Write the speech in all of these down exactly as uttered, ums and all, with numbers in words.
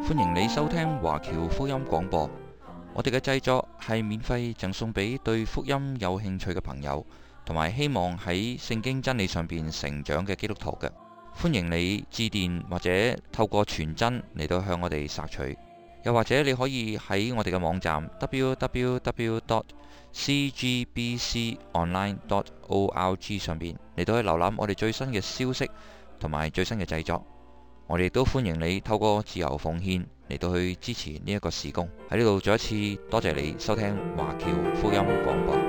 歡迎你收聽華僑福音廣播。我哋嘅製作係免費贈送俾對福音有興趣嘅朋友，同埋希望喺聖經真理上邊成長嘅基督徒嘅。歡迎你致電或者透過傳真嚟到向我哋索取，又或者你可以喺我哋嘅網站 double-u double-u double-u dot c g b c online dot org 上邊嚟到去瀏覽我哋最新嘅消息同埋最新嘅製作。我哋亦都歡迎你透過自由奉獻嚟到去支持呢一個事工。喺呢度再一次多謝你收聽華僑福音廣播。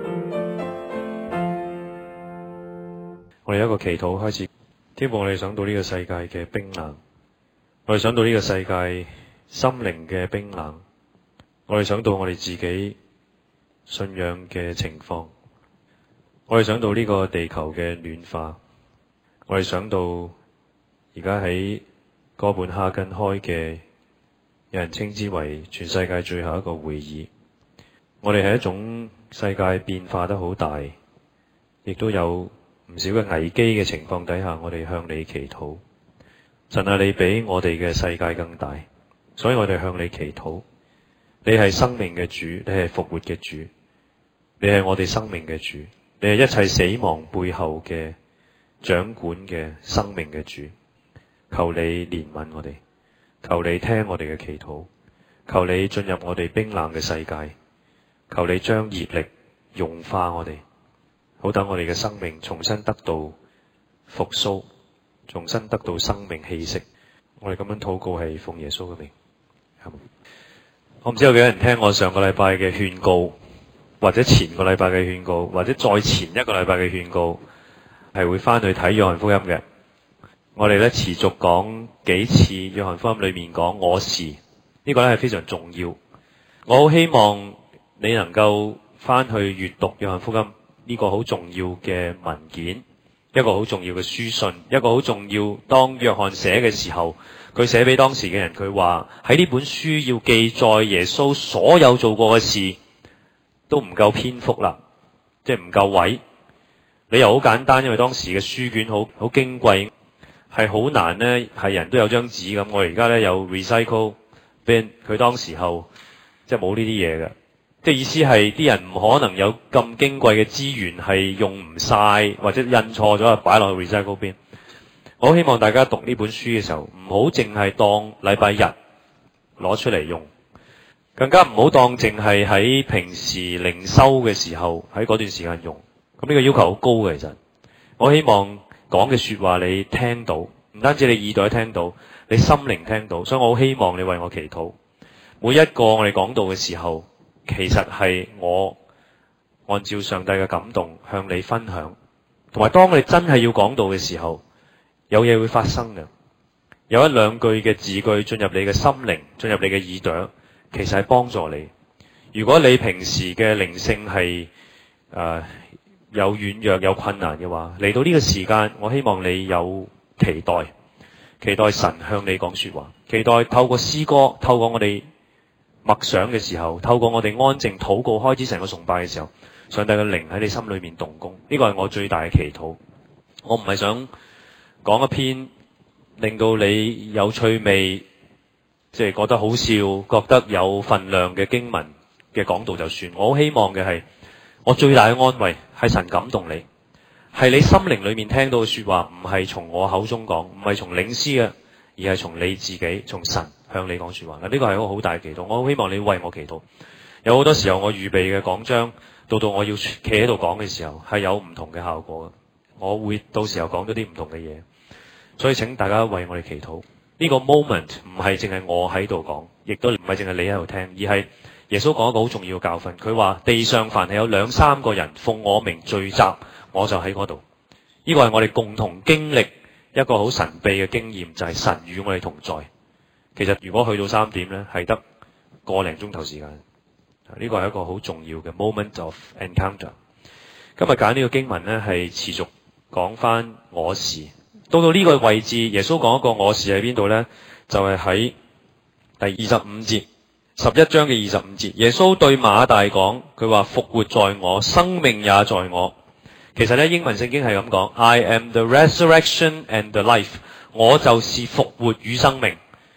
我哋一個祈禱開始，天父，我哋想到呢個世界嘅冰冷，我哋想到呢個世界心靈嘅冰冷，我哋想到我哋自己信仰嘅情況，我哋想到呢個地球嘅暖化，我哋想到而家喺哥本哈根開嘅，有人稱之為全世界最後一個會議。我哋係一種世界變化得好大，亦都有唔少嘅危機嘅情況底下，我哋向你祈禱。神啊，你比我哋嘅世界更大，所以我哋向你祈禱。你係生命嘅主，你係復活嘅主，你係我哋生命嘅主，你係一切死亡背後嘅掌管嘅生命嘅主。求你憐憫我哋，求你聽我哋嘅祈禱，求你進入我哋冰冷嘅世界，求你將熱力融化我哋，好等我哋嘅生命重新得到復甦，重新得到生命氣息。我哋咁樣禱告係奉耶穌嘅名。我唔知有幾多人聽我上個禮拜嘅勸告，或者前個禮拜嘅勸告，或者再前一個禮拜嘅勸告，係會翻去睇約翰福音嘅。我哋咧持續講幾次約翰福音裏面講我是，呢個咧係非常重要。我好希望你能夠翻去閱讀約翰福音呢個好重要嘅文件，一個好重要嘅書信，一個好重要。當約翰寫嘅時候，佢寫俾當時嘅人，佢話喺呢本書要記載耶穌所有做過嘅事，都唔夠篇幅啦，即係唔夠位。理由好簡單，因為當時嘅書卷好好矜貴。係好難呢，係人都有張紙咁。我哋而家呢有 recycle bin， 佢當時候即係冇呢啲嘢嘅，即係意思係啲人唔可能有咁矜貴嘅資源係用唔晒，或者印錯咗啊擺落去 recycle bin。我希望大家讀呢本書嘅時候，唔好淨係當禮拜日攞出嚟用，更加唔好當淨係喺平時靈修嘅時候喺嗰段時間用。咁呢個要求好高嘅，其實我希望講嘅說話你聽到，唔單止你耳朵聽到，你心靈聽到，所以我好希望你為我祈禱。每一個我哋講道嘅時候，其實係我按照上帝嘅感動向你分享，同埋當我哋真係要講道嘅時候，有嘢會發生嘅，有一兩句嘅字句進入你嘅心靈，進入你嘅耳朵，其實係幫助你。如果你平時嘅靈性係誒、呃有軟弱有困難嘅話，嚟到呢個時間，我希望你有期待，期待神向你講說話，期待透過詩歌，透過我哋默想嘅時候，透過我哋安靜禱告開始成個崇拜嘅時候，上帝嘅靈喺你心裏面動工。呢個係我最大嘅祈禱。我唔係想講一篇令到你有趣味，即係覺得好笑，覺得有分量嘅經文嘅講道就算。我好希望嘅係，我最大嘅安慰係神感動你，係你心靈裏面聽到嘅說話，唔係從我口中講，唔係從領詩嘅，而係從你自己，從神向你講說話。嗱，呢個係一個好大嘅祈禱。我好希望你為我祈禱。有好多時候我預備嘅講章，到到我要企喺度講嘅時候，係有唔同嘅效果嘅。我會到時候講咗啲唔同嘅嘢，所以請大家為我哋祈禱。呢個 moment 唔係淨係我喺度講，亦都唔係淨係你喺度聽，而係耶穌講一個好重要嘅教訓，佢話地上凡係有兩三個人奉我名聚集，我就喺嗰度。呢個係我哋共同經歷一個好神秘嘅經驗，就係神與我哋同在。其實如果去到三點呢，係得個零鐘頭時間。呢個係一個好重要嘅 moment of encounter。今日揀呢個經文呢，係持續講翻我是。到到呢個位置，耶穌講一個我是喺邊度呢？就係喺第二十五節。十一章嘅二十五節，耶穌對馬大講，佢話復活在我，生命也在我。其實咧，英文聖經係咁講 I am the resurrection and the life， 我就是復活與生命。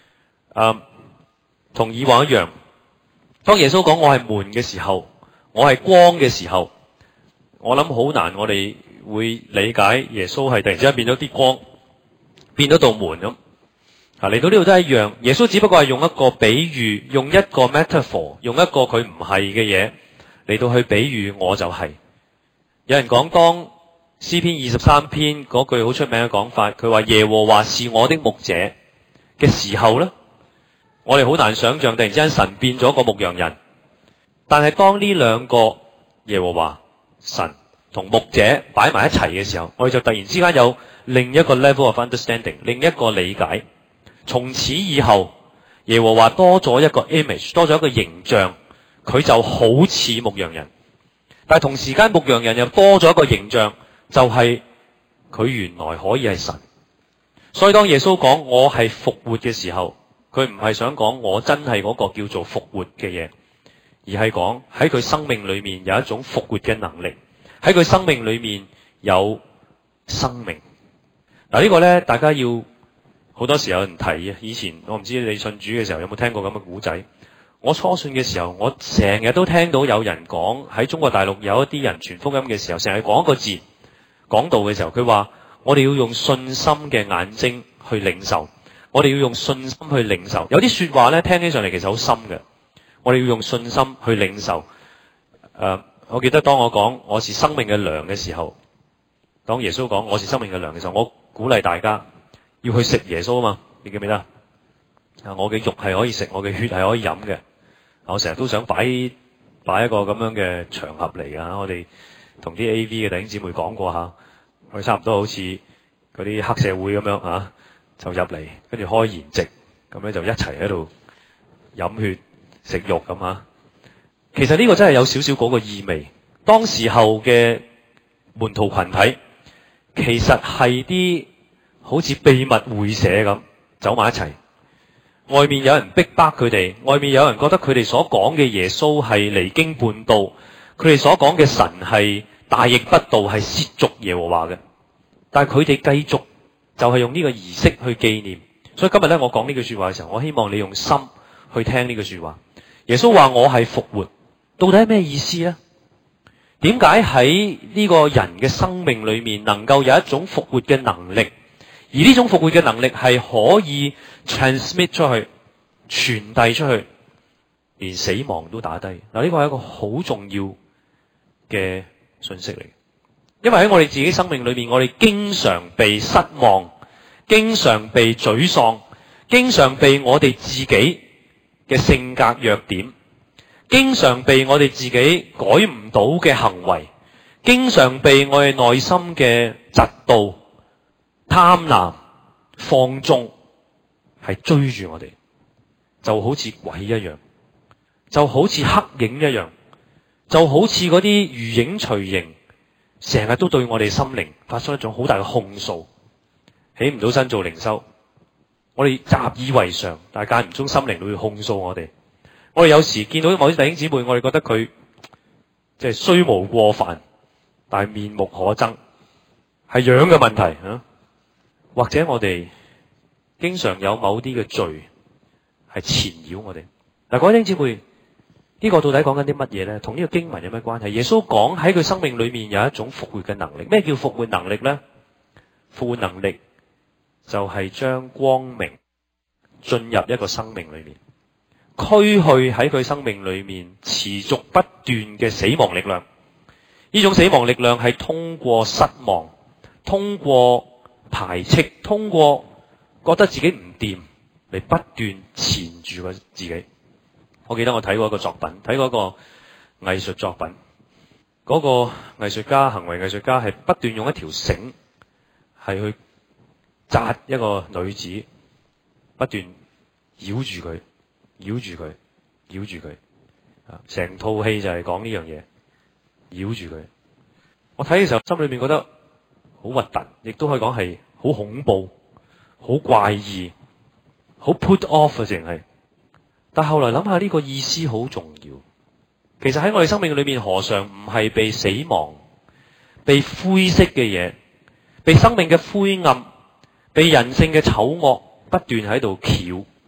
嗯，同以往一樣。當耶穌講我係門嘅時候，我係光嘅時候，我諗好難我哋會理解耶穌係突然之間變咗啲光，變咗道門咁。啊，嚟到呢度都係一樣，耶穌只不過係用一個比喻，用一個 metaphor， 用一個佢唔係嘅嘢嚟到去比喻我就係。有人講當詩篇二十三篇嗰句好出名嘅講法，佢話耶和華是我的牧者嘅時候咧，我哋好難想象突然之間神變咗個牧羊人。但係當呢兩個耶和華神同牧者擺埋一齊嘅時候，我哋就突然之間有另一個 level of understanding， 另一個理解。從此以後，耶和華多咗一個 image， 多咗一個形象，佢就好似牧羊人。但係同時間牧羊人又多咗一個形象，就係、是、佢原來可以係神。所以當耶穌講我係復活嘅時候，佢唔係想講我真係嗰個叫做復活嘅嘢，而係講喺佢生命裏面有一種復活嘅能力，喺佢生命裏面有生命。嗱，呢個呢，大家要好多時有人提嘅。以前我唔知你信主嘅時候有冇聽過咁嘅古仔。我初信嘅時候，我成日都聽到有人講，喺中國大陸有一啲人傳福音嘅時候，成日講一個字，講道嘅時候，佢話我哋要用信心嘅眼睛去領受，我哋要用信心去領受。有啲說話呢，聽起上嚟其實好深嘅，我哋要用信心去領受。誒、呃，我記得當我講我是生命嘅糧嘅時候，當耶穌講我是生命嘅糧嘅時候，我鼓勵大家要去食耶穌啊嘛，你記唔記得啊？我嘅肉係可以食，我嘅血係可以飲嘅。我成日都想擺擺一個咁樣嘅場合嚟㗎。我哋同啲 A V 嘅弟兄姊妹講過下，我哋差唔多好似嗰啲黑社會咁樣啊，就入嚟跟住開筵席，咁咧就一齊喺度飲血食肉咁啊。其實呢個真係有少少嗰個意味。當時候嘅門徒群體其實係啲好似秘密會社咁走埋一齊，外面有人逼迫佢哋，外面有人覺得佢哋所講嘅耶穌係離經叛道，佢哋所講嘅神係大逆不道，係褻瀆耶和華嘅。但係佢哋繼續就係用呢個儀式去紀念。所以今日咧，我講呢句說話嘅時候，我希望你用心去聽呢句說話。耶穌話我係復活，到底係咩意思呢？點解喺呢個人嘅生命裏面能夠有一種復活嘅能力？而呢種復活嘅能力係可以 transmit 出去，傳遞出去，連死亡都打低。嗱，呢個係一個好重要嘅信息嚟。因為喺我哋自己生命裏面，我哋經常被失望，經常被沮喪，經常被我哋自己嘅性格弱點，經常被我哋自己改唔到嘅行為，經常被我哋內心嘅嫉妒、貪婪、放縱係追住我哋，就好似鬼一樣，就好似黑影一樣，就好似嗰啲如影隨形，成日都對我哋心靈發出一種好大嘅控訴，起唔到身做靈修，我哋習以為常，但係間唔中心靈都會控訴我哋。我哋有時見到某啲弟兄姊妹，我哋覺得佢即係雖無過犯，但係面目可憎，係樣嘅問題啊。或者我哋經常有某啲嘅罪係纏繞我哋。嗱，各位弟兄姊妹，呢個到底講緊啲乜嘢咧？同呢個經文有咩關係？耶穌講喺佢生命裏面有一種復活嘅能力。咩叫復活能力咧？復活能力就係將光明進入一個生命裏面，驅去喺佢生命裏面持續不斷嘅死亡力量。呢種死亡力量係通過失望，通過排斥，通過覺得自己唔掂嚟不斷纏住個自己。我記得我睇過一個作品，睇過一個藝術作品，嗰個藝術家，行為藝術家係不斷用一條繩係去紮一個女子，不斷繞住佢，繞住佢，繞住佢，啊！成套戲就係講呢樣嘢，繞住佢。我睇嘅時候，心裏面覺得好核突，亦都可以講係好恐怖、好怪異、好 put off 啊！淨係，但後來諗下呢個意思好重要。其實喺我哋生命裏面，何嘗唔係被死亡、被灰色嘅嘢、被生命嘅灰暗、被人性嘅醜惡不斷喺度撬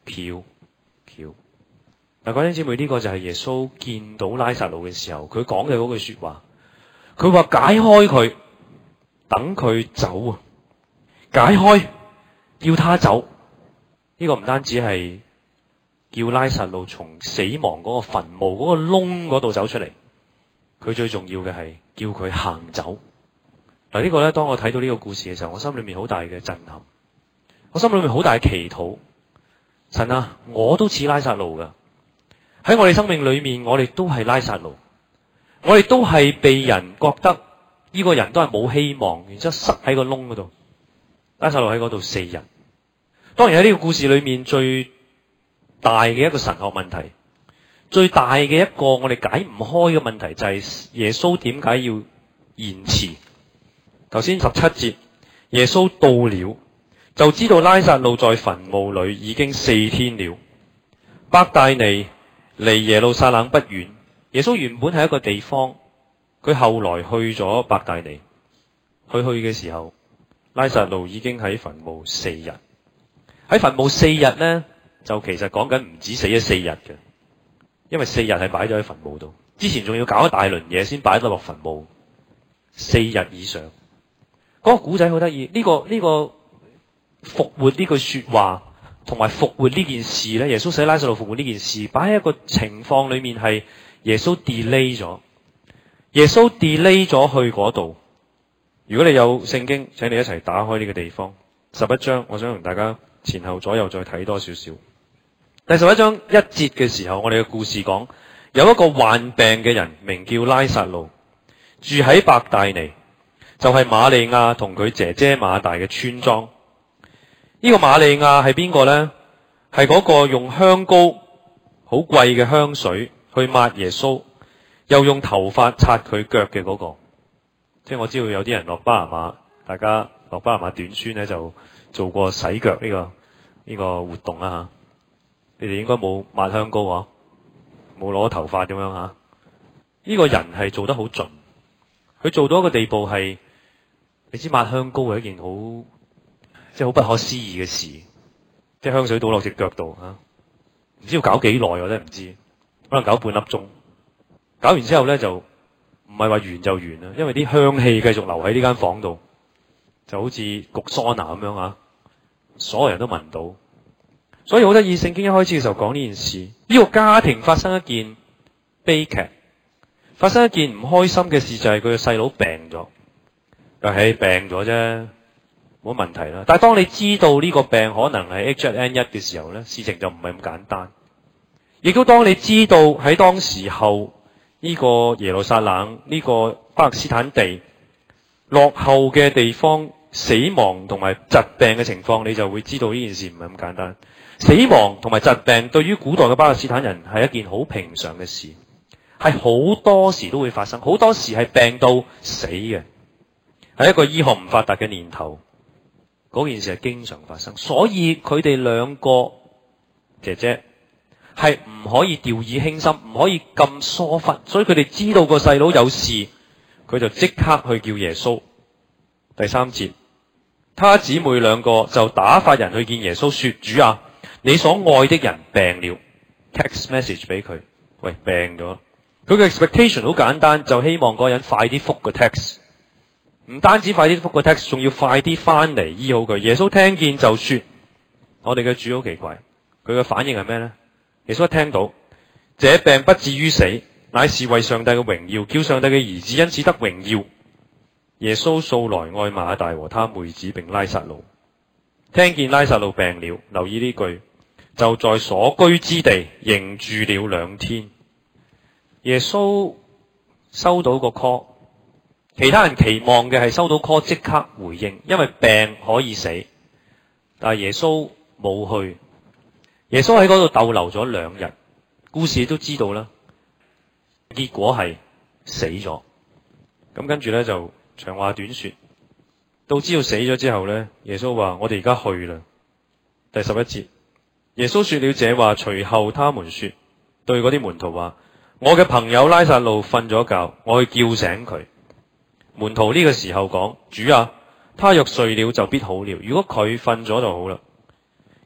翹翹。嗱，各位姊妹，呢個就係耶穌見到拉撒路嘅時候，佢講嘅嗰句說話。佢話解開佢，等佢走啊！解開，要他走。呢個唔單止係叫拉撒路從死亡嗰個墳墓嗰個窿嗰度走出嚟，佢最重要嘅係叫佢行走。嗱，呢個咧，當我睇到呢個故事嘅時候，我心裏面好大嘅震撼，我心裏面好大嘅祈禱。神啊，我都似拉撒路噶，喺我哋生命裏面，我哋都係拉撒路，我哋都係被人覺得呢個人都係冇希望，然之後塞喺個窿嗰度。拉撒路喺嗰度四日。當然喺呢個故事裏面最大嘅一個神學問題，最大嘅一個我哋解唔開嘅問題就係耶穌點解要延遲？頭先十七節，耶穌到了，就知道拉撒路在墳墓裏已經四天了。伯大尼離耶路撒冷不遠，耶穌原本係一個地方，佢後來去咗伯大尼。佢去嘅時候，拉撒路已經喺墳墓四日。喺墳墓四日咧，就其實講緊唔止死咗四日嘅，因為四日係擺咗喺墳墓度，之前仲要搞一大輪嘢先擺得落墳墓，四日以上。嗰個古仔好得意，呢個呢個復活呢句說話，同埋復活呢件事咧，耶穌使拉撒路復活呢件事，擺喺一個情況裏面係耶穌 delay 咗，耶穌 delay 咗去嗰度。如果你有聖經，請你一齊打開呢個地方，十一章，我想同大家前後左右再睇多少少。第十一章一節嘅時候，我哋嘅故事講，有一個患病嘅人，名叫拉撒路，住喺伯大尼，就係瑪利亞同佢姐姐馬大嘅村莊。呢個瑪利亞係邊個呢？係嗰個用香膏好貴嘅香水去抹耶穌，又用頭髮擦佢腳嘅嗰個。即係我知道有啲人落巴拿馬，大家落巴拿馬短宣咧就做過洗腳呢個呢個活動啦吓。你哋應該冇抹香膏啊，冇攞頭髮咁樣吓。呢個人係做得好盡，佢做到一個地步係，你知抹香膏係一件好即係好不可思議嘅事，即係香水倒落隻腳度吓，唔知要搞幾耐我真係唔知，可能搞半粒鐘。搞完之後咧就唔係話完就完啦，因為啲香氣繼續留喺呢間房度，就好似焗桑拿咁樣啊，所有人都聞到。所以好得意，聖經一開始嘅時候講呢件事，呢個家庭發生一件悲劇，發生一件唔開心嘅事，就係佢嘅細佬病咗。但係病咗啫，冇問題啦。但係當你知道呢個病可能係 H one N one 嘅時候咧，事情就唔係咁簡單。亦都當你知道喺當時候呢個耶路撒冷呢個巴勒斯坦地落後嘅地方，死亡同埋疾病嘅情況，你就會知道呢件事唔係咁簡單。死亡同埋疾病對於古代嘅巴勒斯坦人係一件好平常嘅事，係好多時都會發生，好多時係病到死嘅。喺一個醫學唔發達嘅年頭，嗰件事係經常發生，所以佢哋兩個姐姐係唔可以掉以輕心，唔可以咁疏忽，所以佢哋知道個細佬有事，佢就即刻去叫耶穌。第三節，他姊妹兩個就打發人去見耶穌，說：主啊，你所愛的人病了。text message 俾佢，喂，病咗。佢嘅 expectation 好簡單，就希望嗰個人快啲覆個 text。唔單止快啲覆個 text， 仲要快啲翻嚟醫好佢。耶穌聽見就說：我哋嘅主好奇怪，佢嘅反應係咩呢？耶穌一聽到，這病不至於死，乃是為上帝嘅榮耀，叫上帝嘅兒子因此得榮耀。耶穌素來愛馬大和他妹子並拉撒路，聽見拉撒路病了，留意呢句，就在所居之地仍住了兩天。耶穌收到個 call。其他人期望嘅係收到 call 即刻回應，因為病可以死，但係耶穌冇去。耶穌喺嗰度逗留咗兩日，故事都知道啦。結果係死咗。咁跟住咧就長話短說，到知道死咗之後咧，耶穌話：我哋而家去啦。第十一節，耶穌說了這話，隨後他們說，對嗰啲門徒話：我嘅朋友拉撒路瞓咗覺，我去叫醒佢。門徒呢個時候講：主啊，他若睡了就必好了。如果佢瞓咗就好啦。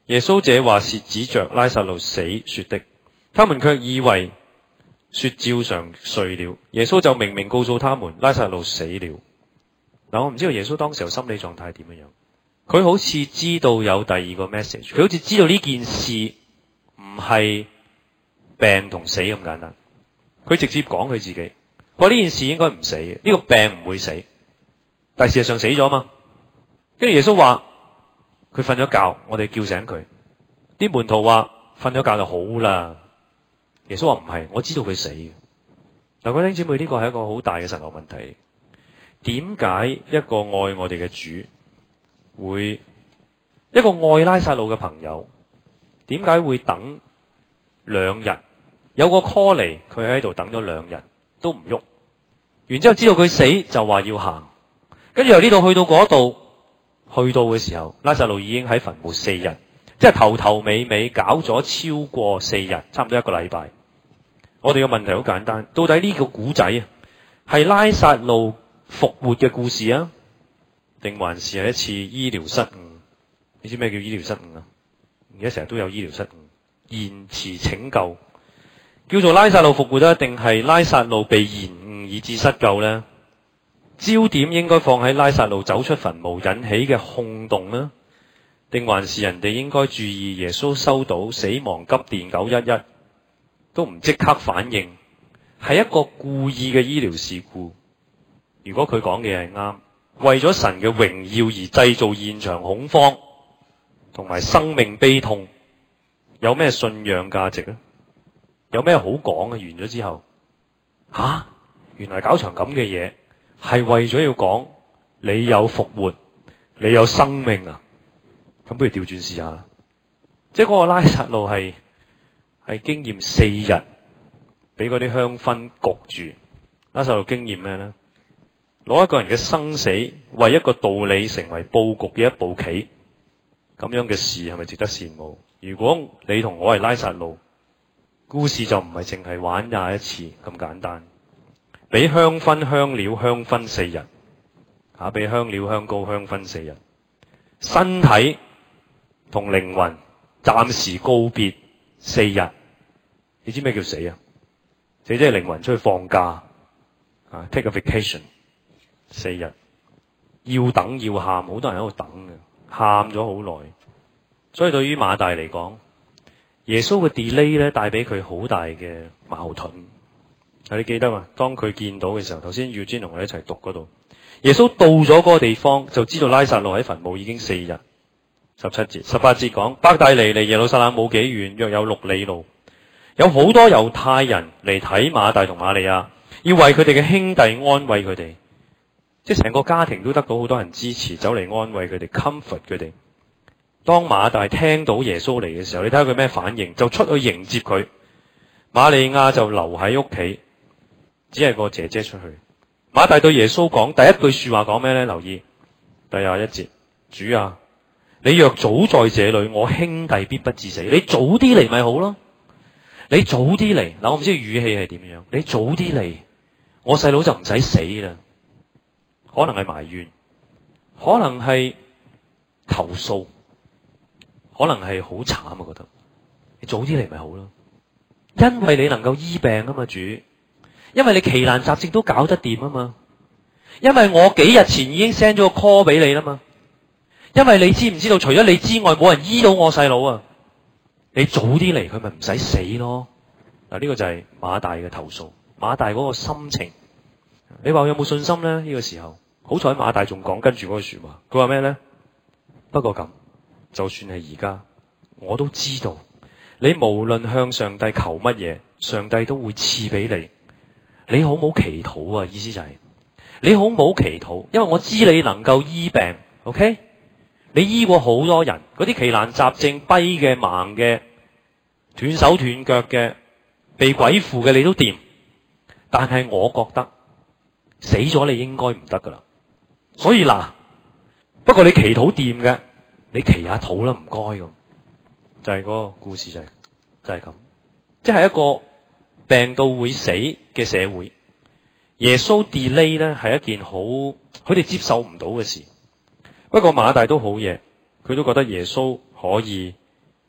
耶穌這話是指着拉撒路死說的，他們卻以為說照常睡了。耶穌就明明告訴他們，拉撒路死了。嗱，我唔知道耶穌當時候心理狀態係點樣樣。佢好似知道有第二個 message，佢好似知道呢件事唔係病同死咁簡單。佢直接講佢自己，話呢件事應該唔死嘅，呢、這個病唔會死，但係事實上死咗嘛。跟住耶穌話佢瞓咗覺，我哋叫醒佢。啲門徒話瞓咗覺就好啦。耶穌話唔係，我知道佢死嘅。嗱，各位弟兄姊妹，呢個係一個好大嘅神學問題。點解一個愛我哋嘅主會一個愛拉撒路嘅朋友，點解會等兩日？有個 call 嚟，佢喺度等咗兩日都唔喐，然之後知道佢死就話要行，跟住由呢度去到嗰度，去到嘅時候，拉撒路已經喺墳墓四日，即係頭頭尾尾搞咗超過四日，差唔多一個禮拜。我哋嘅問題好簡單，到底呢個古仔啊，係拉撒路復活嘅故事啊，定還是係一次醫療失誤？你知咩叫醫療失誤啊？而家成日都有醫療失誤，延遲拯救，叫做拉撒路復活啊，定係拉撒路被延誤以致失救呢？焦點應該放喺拉撒路走出墳墓引起嘅轟動呢，定還是人哋應該注意耶穌收到死亡急電九一一都唔即刻反應，係一個故意嘅醫療事故？如果佢講嘅係啱，為咗神嘅榮耀而製造現場恐慌同埋生命悲痛，有咩信仰價值呢？有咩好講啊？完咗之後，吓、啊，原來搞場咁嘅嘢係為咗要講你有復活，你有生命啊？咁不如調轉試下，即係嗰個拉撒路係係經驗四日，俾嗰啲香薰焗住。拉撒路經驗咩呢？攞一個人嘅生死為一個道理成為佈局嘅一步棋，咁樣嘅事係咪值得羨慕？如果你同我係拉撒路，故事就唔係淨係玩廿一次咁簡單，俾香薰香料香薰四日，吓，俾香料香膏香薰四日，身體同靈魂暫時告別四日。你知咩叫死啊？死即係靈魂出去放假啊 ，take a vacation。四日要等要喊，好多人喺度等嘅，喊咗好耐。所以對於馬大嚟講，耶穌嘅 delay 咧帶俾佢好大嘅矛盾。你記得嘛？當佢見到嘅時候，頭先 Eugene 同我哋一齊讀嗰度，耶穌到咗嗰個地方，就知道拉撒路喺墳墓已經四日。十七節、十八節講，伯大尼離耶路撒冷冇幾遠，約有六里路，有好多猶太人嚟睇馬大同瑪利亞，要為佢哋嘅兄弟安慰佢哋。即係成個家庭都得到好多人支持，走嚟安慰佢哋 comfort 佢哋。當馬大聽到耶穌嚟嘅時候，你睇下佢咩反應，就出去迎接佢。瑪利亞就留喺屋企，只係個姐姐出去。馬大對耶穌講第一句說話講咩呢？留意第廿一節，主啊，你若早在這裏，我兄弟必不致死。你早啲嚟咪好咯，你早啲嚟。嗱，我唔知語氣係點樣，你早啲嚟，我細佬就唔使死啦。可能係埋怨，可能係投訴，可能係好慘啊！覺得你早啲嚟咪好咯，因為你能夠醫病啊嘛，主，因為你奇難雜症都搞得掂啊嘛，因為我幾日前已經 send 咗個 call 俾你啦嘛，因為你知唔知道，除咗你之外，冇人醫到我細佬啊！你早啲嚟，佢咪唔使死咯。嗱，呢個就係馬大嘅投訴，馬大嗰個心情。你話有冇信心咧？呢個時候？好彩馬大仲講跟住嗰句說話，佢話咩呢？不過咁，就算係而家，我都知道你無論向上帝求乜嘢，上帝都會賜俾你。你好唔好祈禱啊？意思就係、是、你好唔好祈禱，因為我知你能夠醫病。OK， 你醫過好多人，嗰啲奇難雜症、跛嘅、盲嘅、斷手斷腳嘅、被鬼附嘅，你都掂。但係我覺得死咗你應該唔得噶啦。所以嗱，不過你祈禱掂嘅，你祈下禱啦，唔該咁，就係、是、嗰個故事就係、是、就係、是、咁，即係一個病到會死嘅社會。耶穌 delay 咧係一件好佢哋接受唔到嘅事。不過馬大都好嘢，佢都覺得耶穌可以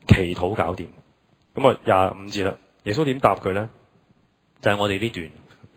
祈禱搞掂。咁啊廿五節啦，耶穌點答佢咧？就係、是、我哋呢段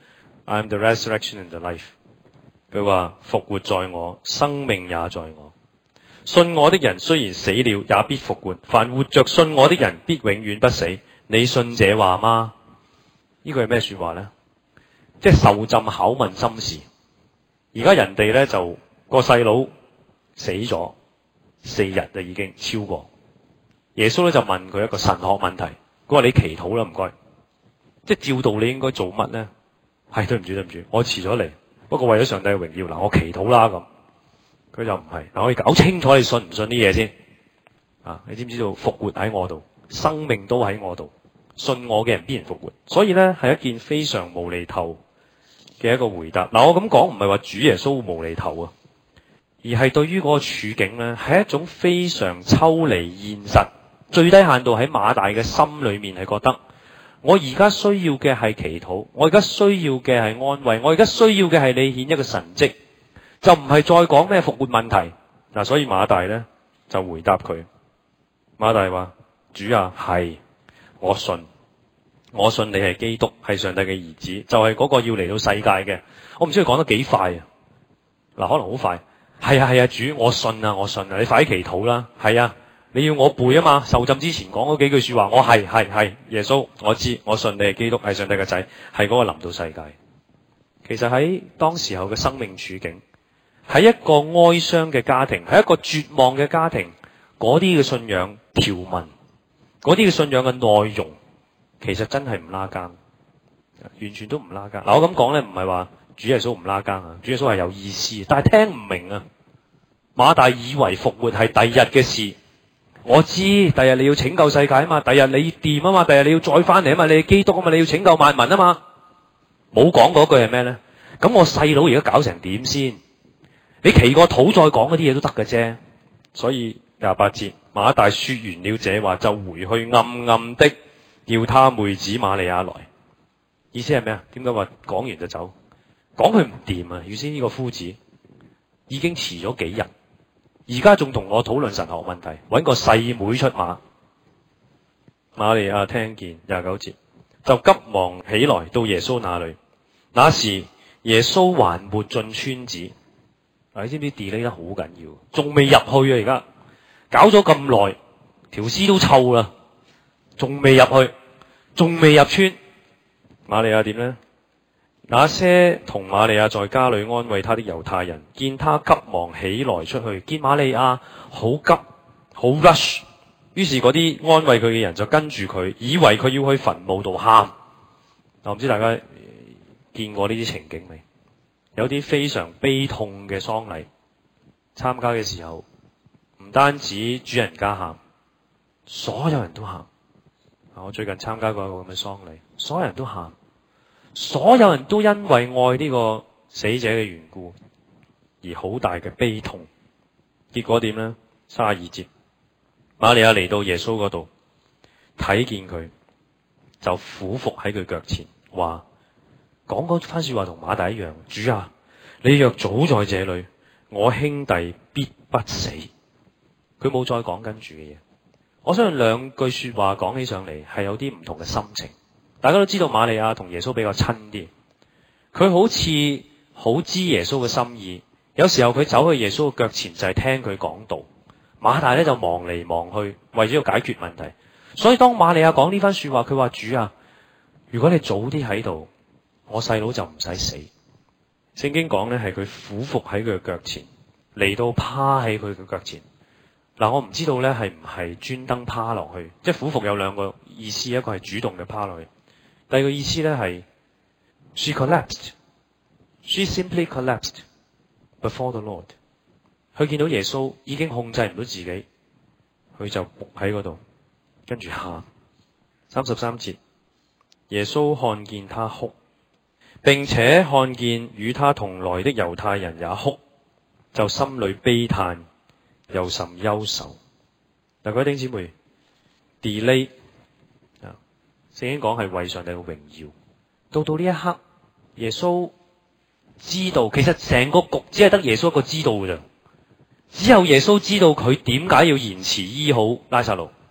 I am the resurrection and the life。佢話復活在我，生命也在我。信我的人雖然死了，也必復活。凡活着信我的人，必永遠不死。你信這話嗎？呢個係咩說話咧？即係受浸考問心事。而家人哋咧就個細佬死咗四日就已經超過。耶穌咧就問佢一個神學問題，佢話你祈禱啦，唔該。即係照道你應該做乜咧？係對唔住對唔住，我遲咗嚟，不過為咗上帝嘅榮耀，嗱我祈禱啦咁。佢就唔係，嗱我要搞清楚你信唔信啲嘢先。啊，你知唔知道復活喺我度，生命都喺我度，信我嘅人必然復活。所以咧係一件非常無厘頭嘅一個回答。嗱我咁講唔係話主耶穌無厘頭啊，而係對於嗰個處境咧係一種非常抽離現實，最低限度喺馬大嘅心裏面係覺得，我而家需要嘅係祈禱，我而家需要嘅係安慰，我而家需要嘅係你顯一個神蹟。就唔係再講咩復活問題嗱，所以馬大咧就回答佢。馬大話：主啊，係我信，我信你係基督，係上帝嘅兒子，就係嗰個要嚟到世界嘅。我唔知佢講得幾快啊！嗱，可能好快。係啊係啊，主，我信啊我信啊，你快啲祈禱啦。係啊，你要我背啊嘛，受浸之前講嗰幾句說話，我係係係耶穌，我知，我信你係基督，係上帝嘅仔，係嗰個臨到世界。其實喺當時候嘅生命處境，喺一個哀傷嘅家庭，喺一個絕望嘅家庭，嗰啲嘅信仰條文，嗰啲嘅信仰嘅內容，其實真係唔拉更，完全都唔拉更。嗱，我咁講咧，唔係話主耶穌唔拉更啊，主耶穌係有意思，但係聽唔明啊。馬大以為復活係第日嘅事，我知，第日你要拯救世界啊嘛，第日你掂啊嘛，第日你要再翻嚟啊嘛，你係基督啊嘛，你要拯救萬民啊嘛，冇講嗰句係咩咧？咁我細佬而家搞成點先？你祈個禱再講嗰啲嘢都得嘅啫。所以廿八節，馬大說完了這話，就回去暗暗的叫他妹子瑪利亞來。意思係咩啊？點解話講完就走？講佢唔掂啊！原先呢個夫子已經遲咗幾日，而家仲同我討論神學問題，搵個細妹出馬。瑪利亞聽見廿九節，就急忙起來到耶穌那裏。那時耶穌還沒進村子。你知唔知 delay 得好緊要？仲未入去啊！而家搞咗咁耐，條屍都臭啦，仲未入去，仲未入村。瑪利亞點呢？那些同瑪利亞在家裏安慰他的猶太人，見他急忙起來出去，見瑪利亞好急，好 rush， 於是嗰啲安慰佢嘅人就跟住佢，以為佢要去墳墓度喊。我唔知大家見過呢啲情景未？有啲非常悲痛嘅喪禮，參加嘅時候，唔單止主人家喊，所有人都喊。我最近參加過一個咁嘅喪禮，所有人都喊，所有人都因為愛呢個死者嘅緣故而好大嘅悲痛。結果點呢？三十二節，瑪利亞嚟到耶穌嗰度，睇見佢就俯伏喺佢腳前，話。講嗰番說話同馬大一樣，主啊，你若早在這裏，我兄弟必不死。佢冇再講跟住嘅嘢。我相信兩句說話講起上嚟係有啲唔同嘅心情。大家都知道瑪利亞同耶穌比較親啲，佢好似好知耶穌嘅心意。有時候佢走去耶穌嘅腳前就係聽佢講道，馬大咧就忙嚟忙去，為咗要解決問題。所以當瑪利亞講呢番說話，佢話主啊，如果你早啲喺度，我細佬就唔使死。聖經講咧係佢俯伏喺佢嘅腳前，嚟到趴喺佢嘅腳前。嗱，我唔知道咧係唔係專登趴落去，即係俯伏有兩個意思，一個係主動嘅趴落去，第二個意思咧係 she collapsed, she simply collapsed before the Lord。佢見到耶穌已經控制唔到自己，佢就伏喺嗰度，跟住喊。三十三節，耶穌看見他哭，並且看見與他同來的猶太人也哭，就心裏悲嘆，又甚憂愁。嗱，各位弟兄姊妹 ，delay 啊，聖經講係為上帝嘅榮耀。到到呢一刻，耶穌知道，其實成個局只係得耶穌一個知道嘅咋。只有耶穌知道佢點解要延遲醫好拉撒路，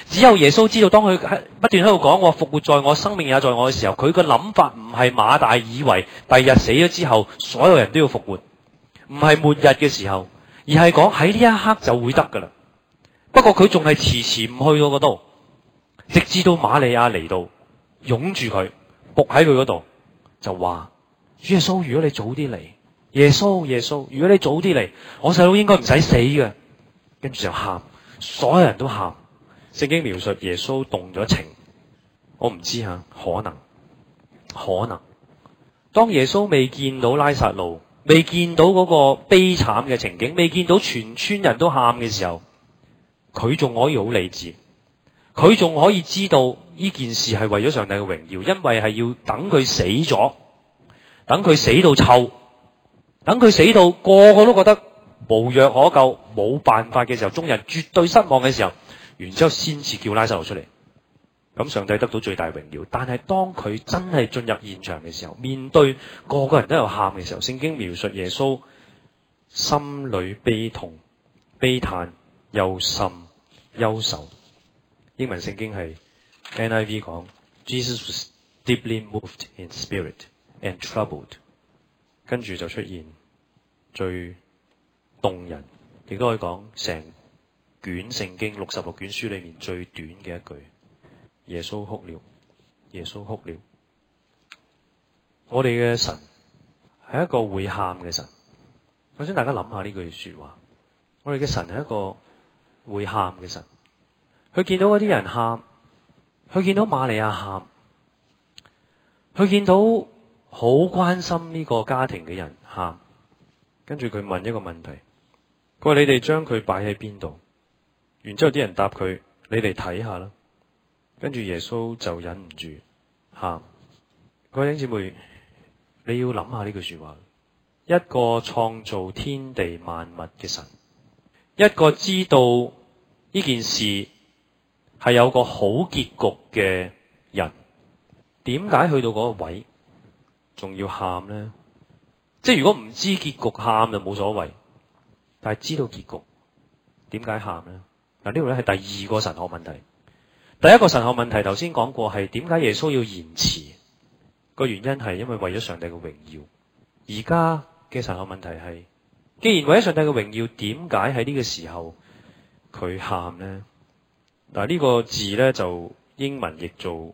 只有耶穌知道，當佢喺不斷喺度講我復活在我，生命也在我嘅時候，佢個諗法唔係馬大以為第日死咗之後所有人都要復活，唔係末日嘅時候，而係講喺呢一刻就會得噶啦。不過佢仲係遲遲唔去到嗰度，直至到瑪利亞嚟到擁住佢，伏喺佢嗰度，就話主耶穌，如果你早啲嚟，耶穌耶穌，如果你早啲嚟，我細佬應該唔使死嘅。跟住就喊，所有人都喊。聖經描述耶穌動咗情，我唔知吓，可能可能當耶穌未見到拉撒路，未見到嗰個悲慘嘅情景，未見到全村人都喊嘅時候，佢仲可以好理智，佢仲可以知道呢件事係為咗上帝嘅榮耀，因為係要等佢死咗，等佢死到臭，等佢死到個個都覺得無藥可救，冇辦法嘅時候，眾人絕對失望嘅時候，然之後先至叫拉撒路出嚟，咁上帝得到最大榮耀。但係當佢真係進入現場嘅時候，面對個個人都有喊嘅時候，聖經描述耶穌心裏悲痛、悲嘆、憂心、憂愁。英文聖經係 N I V 講 Jesus was deeply moved in spirit and troubled， 跟住就出現最動人，亦都可以講成卷聖經六十六卷書裏面最短嘅一句：耶穌哭了，耶穌哭了。我哋嘅神係一個會喊嘅神。我想大家諗下呢句說話，我哋嘅神係一個會喊嘅神。佢見到嗰啲人喊，佢見到瑪利亞喊，佢見到好關心呢個家庭嘅人喊，跟住佢問一個問題，佢話：你哋將佢擺喺邊度？然之後啲人答佢：你哋睇下啦。跟住耶穌就忍唔住喊。各位弟兄姊妹，你要諗下呢句說話，一個創造天地萬物嘅神，一個知道呢件事係有個好結局嘅人，點解去到嗰個位仲要喊呢？即係如果唔知結局喊就冇所謂，但係知道結局點解喊呢？嗱，呢度咧係第二個神學問題。第一個神學問題頭先講過，係點解耶穌要延遲？個原因係因為為咗上帝嘅榮耀。而家嘅神學問題係，既然為咗上帝嘅榮耀，點解喺呢個時候佢喊呢？嗱，呢個字咧就英文譯做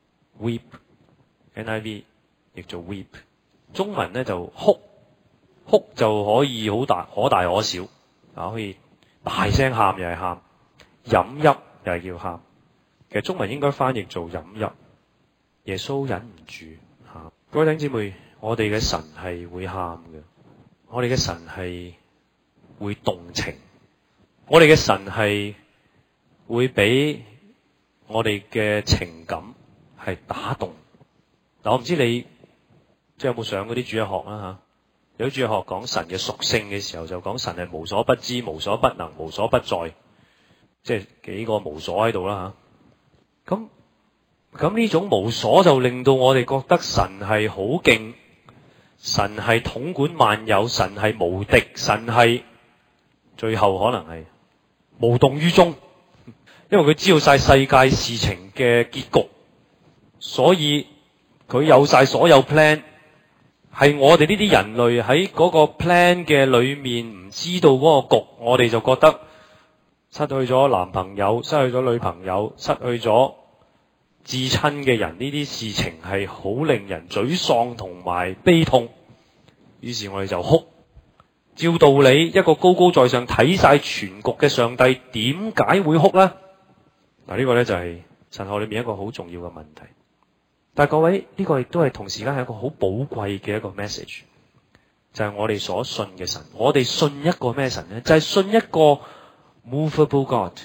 weep，N I V 譯做 weep， 中文咧就哭，哭就可以好大可大可小，啊可以大聲喊又係喊，飲泣又係叫喊。其實中文應該翻譯做飲泣。耶穌忍唔住喊。各位弟兄姊妹，我哋嘅神係會喊嘅，我哋嘅神係會動情，我哋嘅神係會俾我哋嘅情感係打動。嗱，我唔知你即係有冇上嗰啲主日學啦吓？有啲主日學講神嘅屬性嘅時候，就講神係無所不知、無所不能、無所不在，即係幾個無所喺度啦吓。咁咁呢種無所就令到我哋覺得神係好勁，神係統管萬有，神係無敵，神係最後可能係無動於衷。因為佢知道晒世界事情嘅結局，所以佢有晒所有 plan。係我哋呢啲人類喺嗰個 plan 嘅裏面唔知道嗰個局，我哋就覺得失去咗男朋友，失去咗女朋友，失去咗至親嘅人，呢啲事情係好令人沮喪同埋悲痛。於是我哋就哭。照道理，一個高高在上睇晒全局嘅上帝，點解會哭呢？嗱，呢個咧就係神學裏面一個好重要嘅問題。但係各位，呢個亦都係同時間係一個好寶貴嘅一個 message， 就係我哋所信嘅神。我哋信一個咩神呢？就係信一個 movable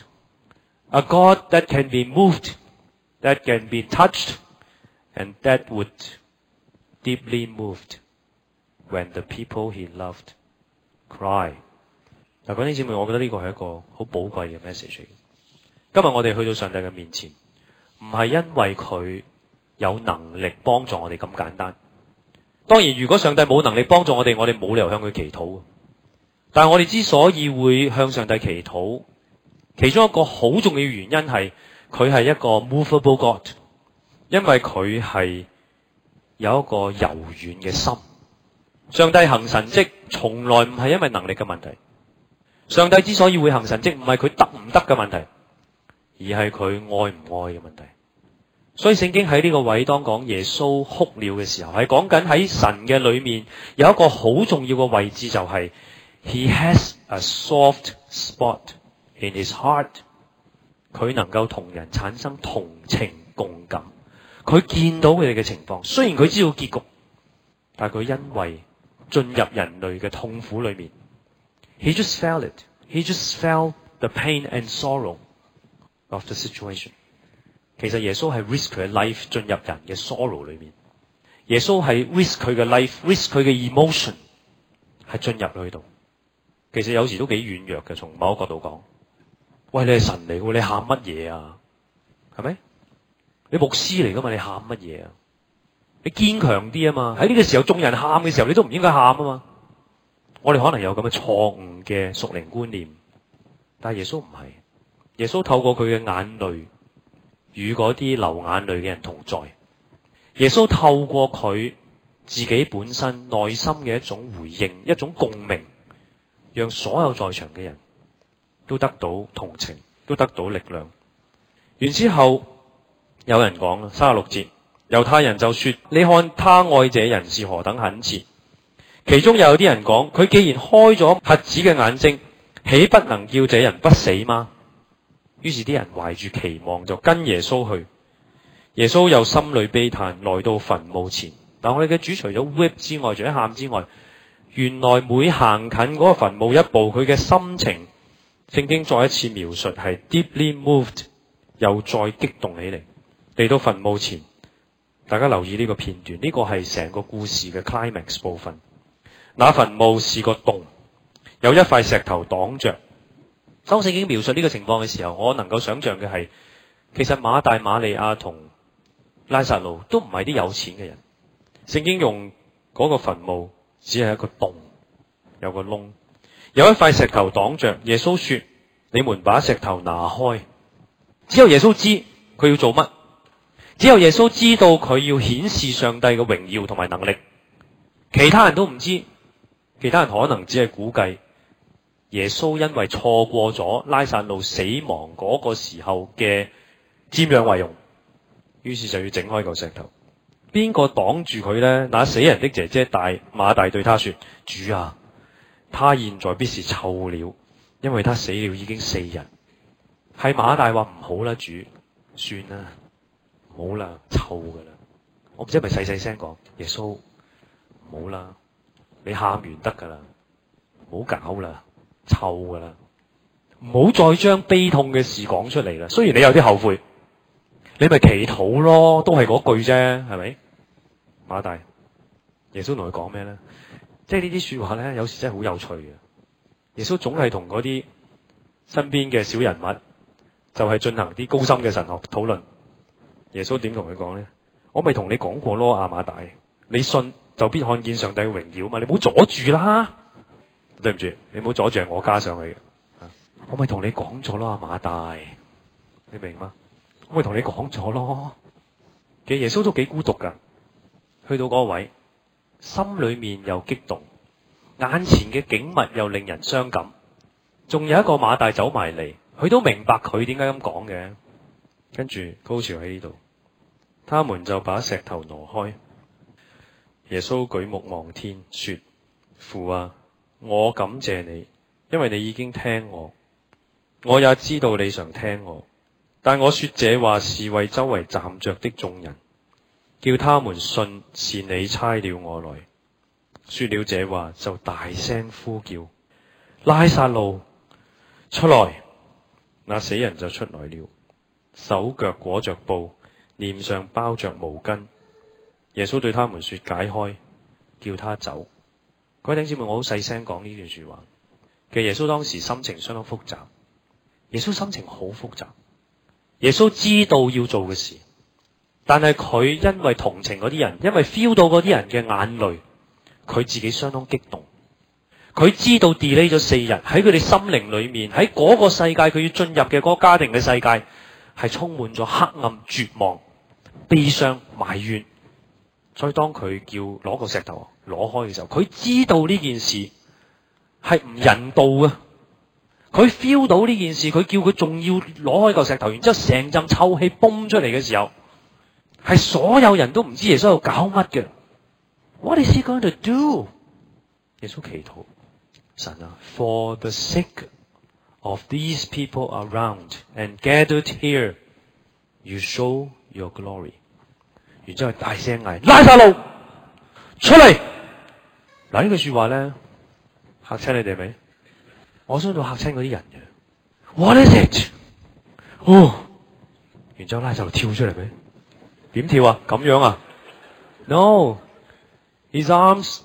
God，a God that can be moved, that can be touched, and that would deeply moved when the people he loved cry。嗱，各位姊妹，我覺得呢個係一個好寶貴嘅 message。今日我哋去到上帝嘅面前，唔係因為佢有能力幫助我哋咁簡單。當然，如果上帝冇能力幫助我哋，我哋冇理由向佢祈禱。但係我哋之所以會向上帝祈禱，其中一個好重要嘅原因係， 佢係一個 movable God， 因為佢係有一個柔軟嘅心。上帝行神蹟從來唔係因為能力嘅問題，上帝之所以會行神蹟唔係佢得唔得嘅問題，而係佢愛唔愛嘅問題。所以聖經喺呢個位當講耶穌哭了嘅時候，係講緊喺神嘅裏面有一個好重要嘅位置，就係 He has a soft spot in his heart。佢能夠同人產生同情共感，佢見到佢哋嘅情況，雖然佢知道結局，但係佢因為進入人類嘅痛苦裏面 ，he just felt it， he just felt the pain and sorrow of the situation。其實耶穌係 risk 佢嘅 life 進入人嘅 sorrow 裏面，耶穌係 risk 佢嘅 life，risk 佢嘅 emotion 係進入去度。其實有時都幾軟弱嘅，從某一個角度講。喂，你係神嚟嘅，你喊乜嘢啊？係咪？你牧師嚟噶嘛？你喊乜嘢啊？你堅強啲啊嘛！喺呢個時候眾人喊嘅時候，你都唔應該喊啊嘛！我哋可能有咁嘅錯誤嘅屬靈觀念，但係耶穌唔係。耶穌透過佢嘅眼淚與嗰啲流眼淚嘅人同在。耶穌透過佢自己本身內心嘅一種回應，一種共鳴，讓所有在場嘅人都得到同情，都得到力量。然之後有人講啦，三十六節，猶太人就說：你看他愛這人是何等懇切。其中又有啲人講：佢既然開咗瞎子嘅眼睛，豈不能叫這人不死嗎？於是啲人懷住期望就跟耶穌去。耶穌又心裏悲嘆，來到墳墓前。但我哋嘅主除咗 whip 之外，除咗喊之外，原來每行近嗰個墳墓一步，佢嘅心情，聖經再一次描述係 deeply moved， 又再激動起嚟。嚟到墳墓前，大家留意呢個片段，呢個係成個故事嘅 climax 部分。那墳墓是個洞，有一塊石頭擋着。當聖經描述呢個情況嘅時候，我能夠想象嘅係，其實馬大、馬利亞同拉撒路都唔係啲有錢嘅人。聖經用嗰個墳墓只係一個洞，有個窿，有一塊石頭擋着。耶穌說：你們把石頭拿開。只有耶穌知佢要做乜，只有耶穌知道佢要顯示上帝嘅榮耀同埋能力，其他人都唔知，其他人可能只係估計。耶穌因為錯過咗拉撒路死亡嗰個時候嘅瞻仰遺容，於是就要整開嚿石頭。邊個擋住佢呢？那死人的姐姐大馬大對他說：主啊，他現在必是臭了，因為他死了已經四日。係馬大話唔好啦，主，算啦，唔好啦，臭噶啦。我唔知係咪細細聲講，耶穌唔好啦，你喊完得噶啦，唔好搞啦，臭噶啦，唔好再將悲痛嘅事講出嚟啦。雖然你有啲後悔，你咪祈禱咯，都係嗰句啫，係咪？馬大，耶穌同佢講咩咧？即係呢啲說話咧，有時真係好有趣嘅。耶穌總係同嗰啲身邊嘅小人物，就係進行啲高深嘅神學討論。耶穌點同佢講咧？我咪同你講過咯，阿馬大，你信就必看見上帝嘅榮耀嘛，你唔好阻住啦。對唔住，你唔好阻住，我加上去嘅。我咪同你講咗咯，阿馬大，你明嗎？我咪同你講咗咯。其實耶穌都幾孤獨噶，去到嗰個位，心裏面又激動，眼前嘅景物又令人傷感。仲有一個馬大走埋嚟，佢都明白佢點解咁講嘅。跟住高潮喺呢度，他們就把石頭挪開。耶穌舉目望天，說：父啊，我感謝你，因為你已經聽我，我也知道你常聽我。但我說這話是為周圍站着的眾人，叫他們信是你差了我來。說了這話，就大聲呼叫：拉撒路出來！那死人就出來了，手腳裹着布，臉上包着毛巾。耶穌對他們說：解開，叫他走。各位弟兄姊妹，我好細聲講呢段說話。其實耶穌當時心情相當複雜，耶穌心情好複雜。耶穌知道要做嘅事，但係佢因為同情嗰啲人，因為 feel 到嗰啲人嘅眼淚，佢自己相當激動。佢知道 delay 咗四日，喺佢哋心靈裏面，喺嗰個世界佢要進入嘅嗰個家庭嘅世界， 係充滿咗黑暗、絕望、悲傷、埋怨。所以當佢叫攞個石頭攞開嘅時候，佢知道呢件事係唔人道嘅。佢 feel 到呢件事，佢叫佢仲要攞開嚿石頭，然之後成陣臭氣崩出嚟嘅時候，係所有人都唔知耶穌喺度搞乜嘅。What is he going to do？ 耶穌祈禱，神啊 ，For the sake of these people around and gathered here, you show your glory。然之後大聲嗌：拉撒路出嚟！嗱，呢句說話咧嚇親你哋未？我想到嚇親嗰啲人嘅。What is it？ 哦，然之後拉撒路跳出嚟未？點跳啊？咁樣啊 ？No，his arms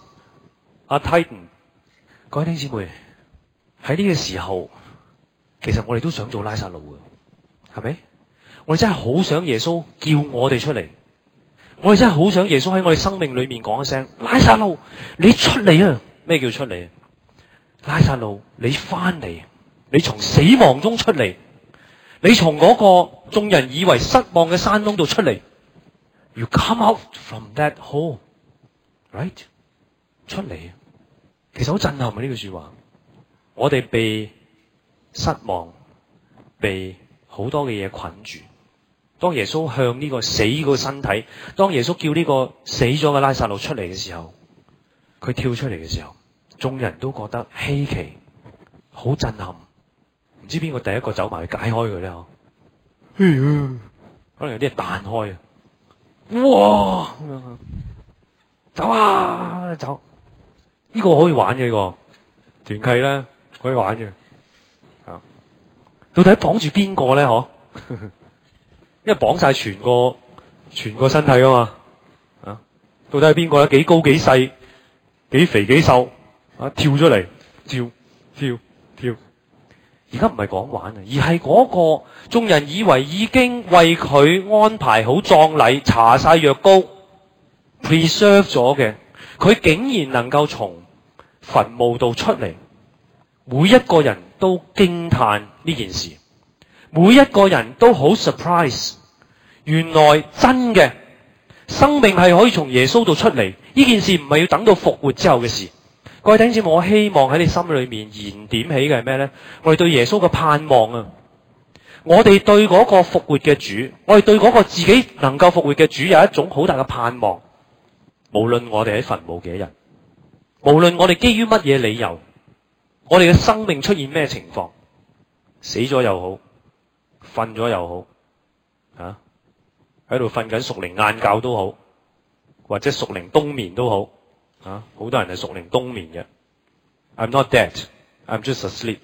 are tightened。各位弟兄姊妹，喺呢個時候，其實我哋都想做拉撒路嘅，係咪？我哋真係好想耶穌叫我哋出嚟。我哋真係好想耶穌喺我哋生命裏面講一聲：拉撒路，你出嚟啊！咩叫出嚟？拉撒路，你翻嚟，你從死亡中出嚟，你從嗰個眾人以為失望嘅山窿度出嚟。You come out from that hole， right？ 出嚟，其實好震撼啊！呢句說話，我哋被失望，被好多嘅嘢捆住。當耶穌向呢個死個身體，當耶穌叫呢個死咗嘅拉撒路出嚟嘅時候，佢跳出嚟嘅時候，眾人都覺得稀奇，好震撼。唔知邊個第一個走埋去解開佢咧？嗬，可能有啲係彈開啊！哇，走啊走！呢個可以玩嘅，呢個團契咧可以玩嘅。啊，到底綁住邊個咧？嗬？因為綁晒全個全個身體噶嘛，啊，到底係邊個咧？幾高幾細，幾肥幾瘦，啊，跳出嚟，跳跳跳。而家唔係講玩啊，而係嗰個眾人以為已經為佢安排好葬禮、搽晒藥膏、preserve 咗嘅，佢竟然能夠從墳墓度出嚟，每一個人都驚嘆呢件事。每一個人都好 surprise， 原來真嘅生命係可以從耶穌度出嚟。呢件事唔係要等到復活之後嘅事。各位弟兄姊妹，我希望喺你心裏面燃點起嘅係咩呢？我哋對耶穌嘅盼望啊！我哋對嗰個復活嘅主，我哋對嗰個自己能夠復活嘅主有一種好大嘅盼望。無論我哋喺墳墓幾日，無論我哋基於乜嘢理由，我哋嘅生命出現咩情況，死咗又好，瞓咗又好，啊，喺度瞓緊屬靈晏覺都好，或者屬靈冬眠都好，啊，好多人係屬靈冬眠嘅。I'm not dead, I'm just asleep.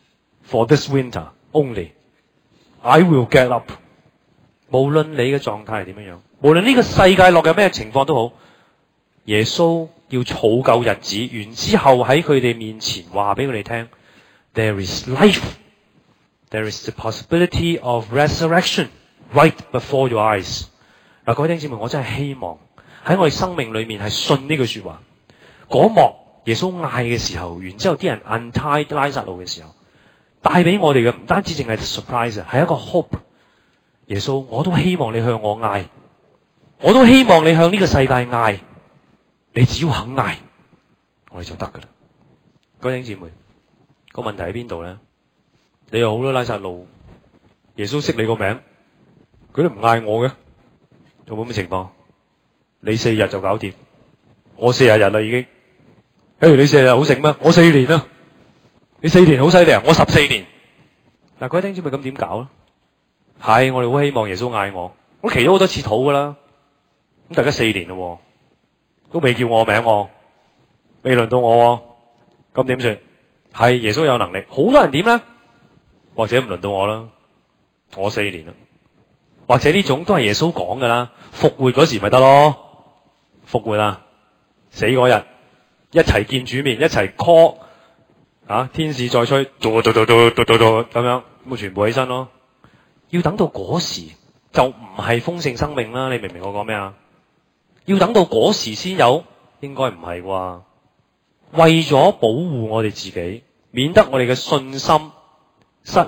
For this winter only, I will get up. 無論你嘅狀態係點樣樣，無論呢個世界落有咩情況都好，耶穌要儲夠日子，完之後喺佢哋面前話俾佢哋聽 ，There is life.There is the possibility of resurrection right before your eyes。嗱，各位弟兄姊妹，我真係希望喺我哋生命裏面係信呢句說話。嗰幕耶穌嗌嘅時候，然之後啲人 untie 拉撒路嘅時候，帶俾我哋嘅唔單止淨係 surprise， 係一個 hope。耶穌，我都希望你向我嗌，我都希望你向呢個世界嗌，你只要肯嗌，我哋就得噶啦。各位弟兄姊妹，個問題喺邊度咧？你有好多拉撒路，耶穌識你個名，佢都唔嗌我嘅，有冇咁嘅情況？你四日就搞掂，我四十日啦已經。誒，你四日好醒咩？我四年啦，你四年好犀利啊！我十四年。嗱，各位弟兄姊妹，咁點搞咧？係我哋好希望耶穌嗌我，我祈咗好多次禱噶啦。咁大家四年咯，都未叫我名喎，未輪到我，咁點算？係耶穌有能力，好多人點咧？或者唔輪到我啦，我四年啦，或者呢種都係耶穌講噶啦，復活嗰時咪得咯，復活啊，死嗰日一齊見主面，一齊 call 啊，天使再吹，嘟嘟嘟嘟嘟嘟嘟咁樣，咁全部起身咯。要等到嗰時就唔係豐盛生命啦，你明唔明我講咩啊？要等到嗰時先有，應該唔係啩？為咗保護我哋自己，免得我哋嘅信心失落，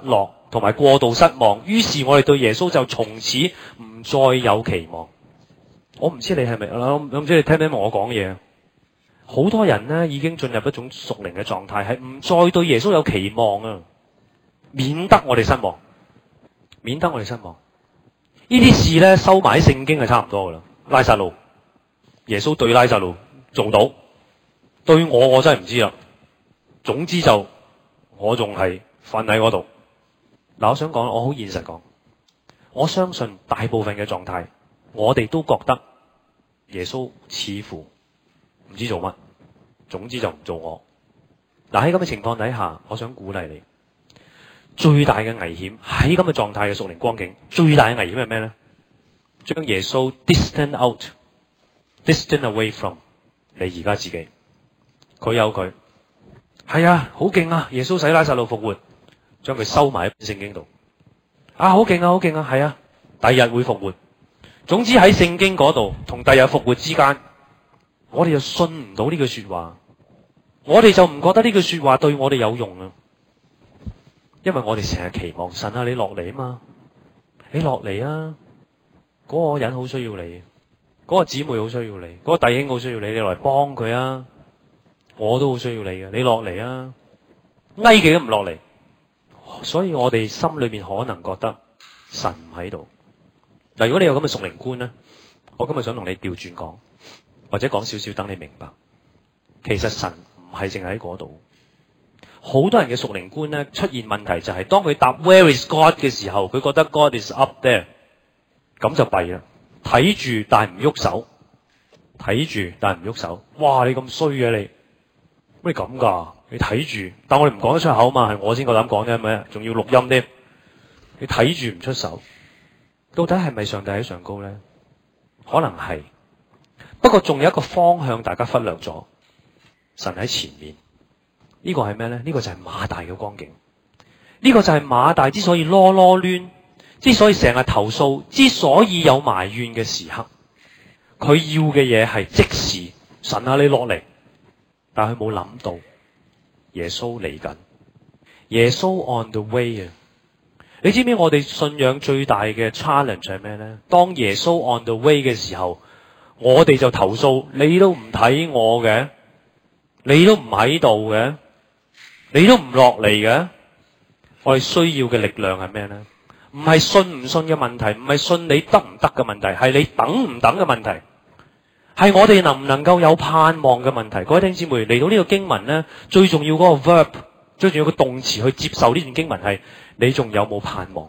同埋過度失望，於是我哋對耶穌就從此唔再有期望。我唔知你係咪，我唔知你聽唔聽我講嘢。好多人呢已經進入一種屬靈嘅狀態，係唔再對耶穌有期望啊，免得我哋失望，免得我哋失望。呢啲事呢收埋喺聖經係差唔多噶啦。拉撒路，耶穌對拉撒路做到，對我我真係唔知啦。總之就我仲係瞓喺嗰度。嗱，我想講，我好現實講，我相信大部分嘅狀態，我哋都覺得耶穌似乎唔知做乜，總之就唔做我。嗱，喺咁嘅情況底下，我想鼓勵你，最大嘅危險喺咁嘅狀態嘅屬靈光景，最大嘅危險係咩咧？將耶穌 distant out，distant away from 你而家自己。佢有佢，係啊，好勁啊！耶穌使拉撒路復活，將佢收埋喺聖經度。啊，好勁啊，好勁啊，係啊，第日會復活。總之喺聖經嗰度同第日復活之間，我哋就信唔到呢句說話，我哋就唔覺得呢句說話對我哋有用啊。因為我哋成日期望神啊，你落嚟啊嘛，你落嚟啊，嗰個人好需要你，嗰個姊妹好需要你，嗰個弟兄好需要你，你落嚟幫佢啊，我都好需要你嘅，你落嚟啊，挨幾都唔落嚟，所以我哋心裏面可能覺得神唔喺度。嗱，如果你有咁嘅屬靈觀咧，我今日想同你調轉講，或者講少少等你明白，其實神唔係淨係喺嗰度。好多人嘅屬靈觀咧出現問題就係當佢答 Where is God 嘅時候，佢覺得 God is up there， 咁就弊啦。睇住但唔喐手，睇住但唔喐手。哇！你咁衰嘅你，乜咁噶？你睇住，但我哋唔講得出口嘛，係我先夠膽講啫，係咪？仲要錄音添。你睇住唔出手，到底係咪上帝喺上高咧？可能係，不過仲有一個方向大家忽略咗，神喺前面。呢個係咩咧？呢個就係馬大嘅光景。呢個就係馬大之所以囉囉攣，之所以成日投訴，之所以有埋怨嘅時刻，佢要嘅嘢係即時，神啊，你落嚟。但係佢冇諗到耶穌嚟緊，耶穌 on the way 啊！你知唔知我哋信仰最大嘅 challenge 係咩咧？當耶穌 on the way 嘅時候，我哋就投訴，你都唔睇我嘅，你都唔喺度嘅，你都唔落嚟嘅。我哋需要嘅力量係咩咧？唔係信唔信嘅問題，唔係信你得唔得嘅問題，係你等唔等嘅問題，係我哋能唔能夠有盼望嘅問題。各位弟兄姊妹，嚟到呢個經文咧，最重要嗰個 verb， 最重要個動詞去接受呢段經文係你仲有冇盼望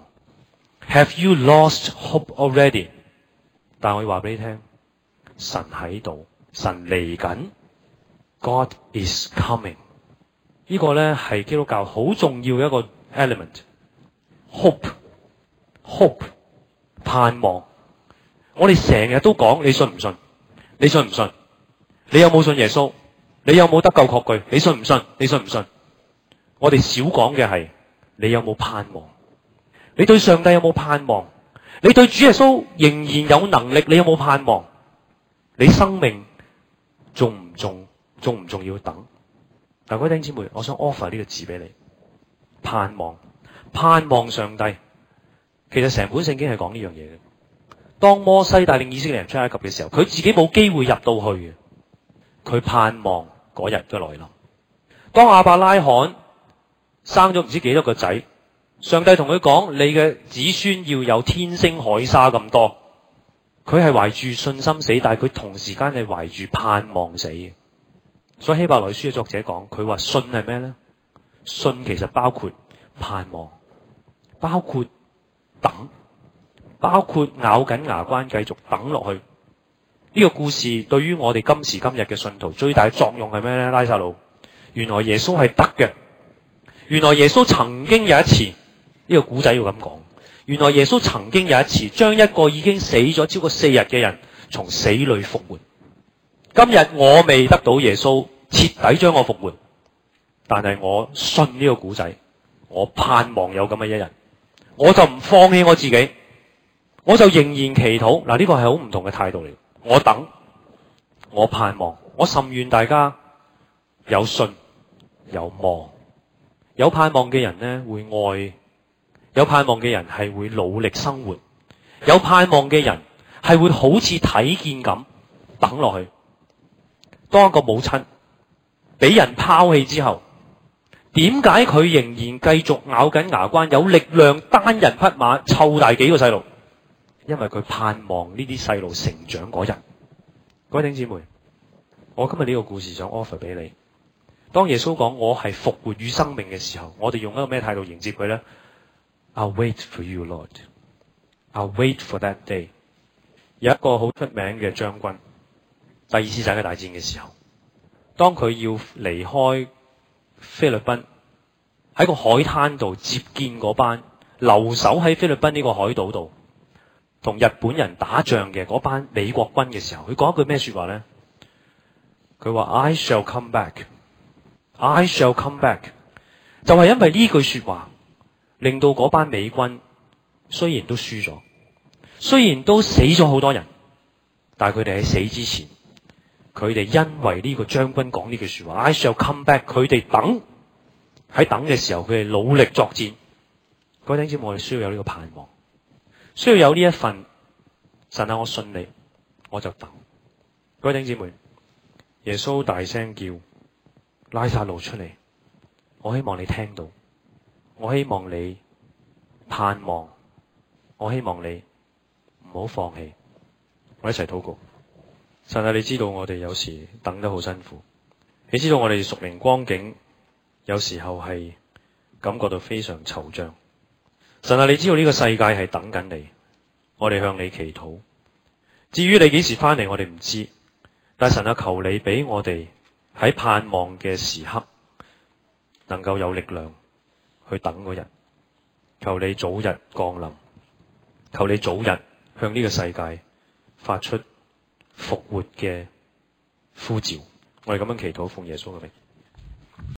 ？Have you lost hope already？ 但我要話俾你聽，神喺度，神嚟緊 ，God is coming。呢個咧係基督教好重要嘅一個 element，hope，hope， hope， 盼望。我哋成日都講，你信唔信？你信唔信？你有冇信耶穌？你有冇得救確據？你信唔信？你信唔信？我哋少講嘅係你有冇盼望？你對上帝有冇盼望？你對主耶穌仍然有能力？你有冇盼望？你生命重唔重？重唔重要等？嗱，各位弟兄姊妹，我想 offer 呢個字俾你，盼望，盼望上帝。其實成本聖經係講呢樣嘢嘅。當摩西帶領以色列人出埃及嘅時候，佢自己冇機會入到去嘅，佢盼望嗰日嘅來臨。當亞伯拉罕生咗唔知幾多個仔，上帝同佢講：你嘅子孫要有天星海沙咁多。佢係懷住信心死，但係佢同時間係懷住盼望死嘅。所以希伯來書嘅作者講，佢話信係咩咧？信其實包括盼望，包括等，包括咬緊牙關繼續等落去。呢個故事對於我哋今時今日嘅信徒最大嘅作用係咩咧？拉撒路，原來耶穌係得嘅。原來耶穌曾經有一次，呢個古仔要咁講，原來耶穌曾經有一次將一個已經死咗超過四日嘅人從死裏復活。今日我未得到耶穌徹底將我復活，但係我信呢個古仔，我盼望有咁嘅一日，我就唔放棄我自己，我就仍然祈禱。嗱，呢個係好唔同嘅態度嚟。我等，我盼望，我甚願大家有信有望。有盼望嘅人呢，會愛有盼望嘅人係會努力生活，有盼望嘅人係會好似睇見咁等落去。當一個母親俾人拋棄之後，點解佢仍然繼續咬緊牙關，有力量單人匹馬湊大幾個細路？因為佢盼望呢啲細路成長嗰日。各位弟兄姊妹，我今日呢個故事想 offer 俾你。當耶穌講我係復活與生命嘅時候，我哋用一個咩態度迎接佢呢？ I'll wait for you, Lord. I'll wait for that day. 有一個好出名嘅將軍，第二次世界大戰嘅時候，當佢要離開菲律賓，喺個海灘度接見嗰班留守喺菲律賓呢個海島度同日本人打仗嘅嗰班美國軍嘅時候，佢講一句咩說話呢？佢話 I shall come back. I shall come back. 就係因為呢句說話，令到嗰班美軍雖然都輸咗，雖然都死咗好多人，但係佢哋喺死之前，佢哋因為呢個將軍講呢句說話 I shall come back， 佢哋等喺等嘅時候，佢哋努力作戰。各位弟兄姊妹，我哋需要有呢個盼望，需要有呢一份神啊，我信你，我就等。各位弟兄姊妹，耶穌大聲叫拉撒路出嚟，我希望你聽到，我希望你盼望，我希望你唔好放棄。我一齊禱告。神啊，你知道我哋有時等得好辛苦，你知道我哋屬靈光景有時候係感覺到非常惆悵。神啊，你知道呢個世界係等緊你，我哋向你祈禱。至於你幾時翻嚟，我哋唔知，但神啊，求你俾我哋喺盼望嘅時刻能夠有力量去等嗰日。求你早日降臨，求你早日向呢個世界發出復活嘅呼召。我哋咁樣祈禱，奉耶穌嘅名。